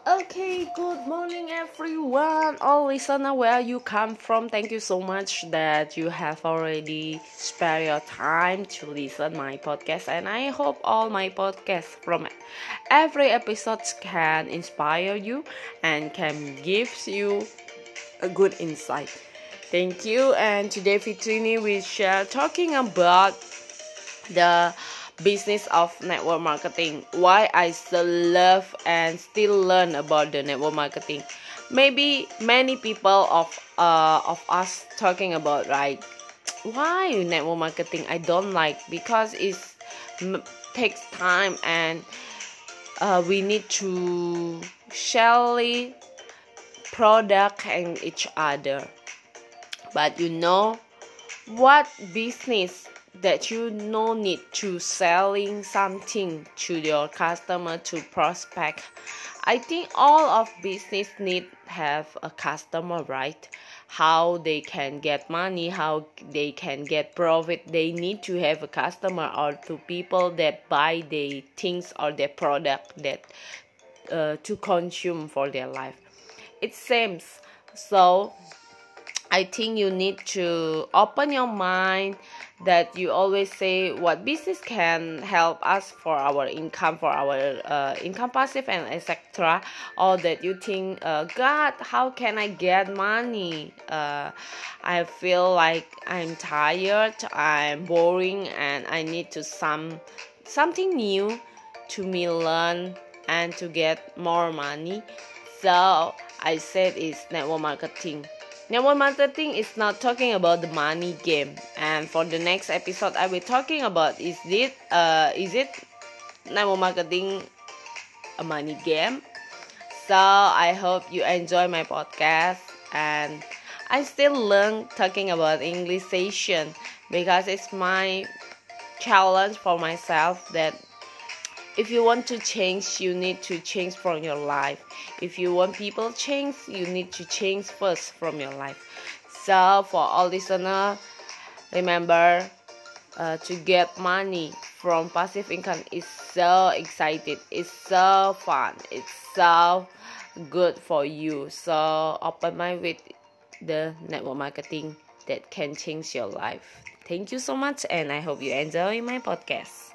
Okay, good morning everyone. All listener where you come from, thank you so much that you have already spare your time to listen my podcast, and I hope all my podcasts from every episode can inspire you and can give you a good insight. Thank you. And today Fitrini we share talking about the business of network marketing, why I still love and still learn about the network marketing. Maybe many people of us talking about, right, why network marketing I don't like, because it takes time, and we need to share product and each other. But what business that you no need to selling something to your customer to prospect. I think all of business need have a customer, right? How they can get money, how they can get profit, they need to have a customer or to people that buy their things or their product that to consume for their life. It seems so. I think you need to open your mind that you always say what business can help us for our income, for our income passive and etc. Or that you think, God, how can I get money? I feel like I'm tired, I'm boring, and I need to something new to me learn and to get more money. So I said it's network marketing. Network marketing is not talking about the money game, and for the next episode I will talking about is it network marketing a money game. So I hope you enjoy my podcast, and I still learn talking about English session because it's my challenge for myself that if you want to change, you need to change from your life. If you want people to change, you need to change first from your life. So for all listeners, remember to get money from passive income is so excited. It's so fun. It's so good for you. So open mind with the network marketing that can change your life. Thank you so much, and I hope you enjoy my podcast.